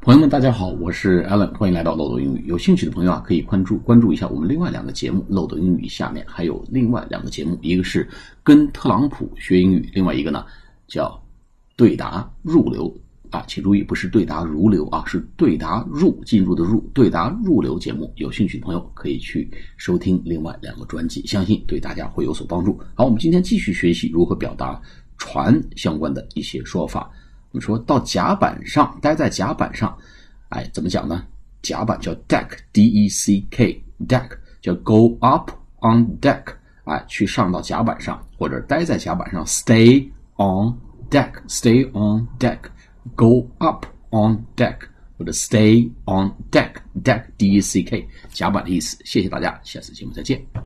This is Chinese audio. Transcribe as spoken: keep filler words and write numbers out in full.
朋友们，大家好，我是 Alan， 欢迎来到漏斗英语。有兴趣的朋友啊，可以关注关注一下我们另外两个节目。漏斗英语下面还有另外两个节目，一个是跟特朗普学英语，另外一个呢叫对答入流啊，请注意，不是对答如流啊，是对答入进入的入，对答入流节目。有兴趣的朋友可以去收听另外两个专辑，相信对大家会有所帮助。好，我们今天继续学习如何表达船相关的一些说法。我们说到甲板上，待在甲板上，哎，怎么讲呢？甲板叫 deck D E C K deck 叫 go up on deck， 哎，去上到甲板上，或者待在甲板上 stay on deck stay on deck go up on deck 或者 stay on deck deck D E C K 甲板的意思。谢谢大家，下次节目再见。